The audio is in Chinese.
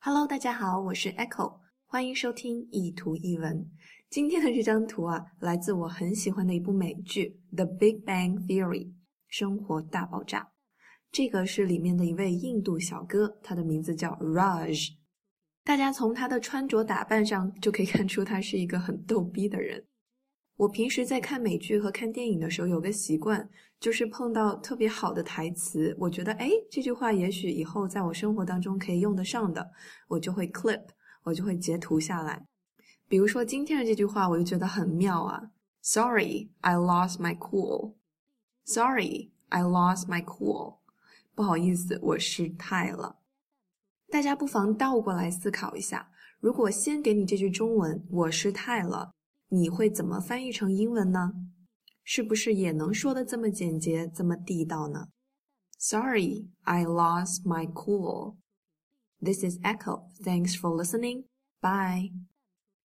Hello， 大家好，我是 Echo， 欢迎收听一图一文。今天的这张图来自我很喜欢的一部美剧《The Big Bang Theory》生活大爆炸。这个是里面的一位印度小哥，他的名字叫 Raj。大家从他的穿着打扮上就可以看出他是一个很逗逼的人。我平时在看美剧和看电影的时候有个习惯，就是碰到特别好的台词，我觉得这句话也许以后在我生活当中可以用得上的，我就会 clip， 我就会截图下来。比如说今天的这句话我就觉得很妙啊 Sorry, I lost my cool. Sorry, I lost my cool. 不好意思，我失态了。大家不妨倒过来思考一下，如果先给你这句中文我失态了，你会怎么翻译成英文呢？是不是也能说得这么简洁，这么地道呢？ Sorry, I lost my cool. This is Echo. Thanks for listening. Bye.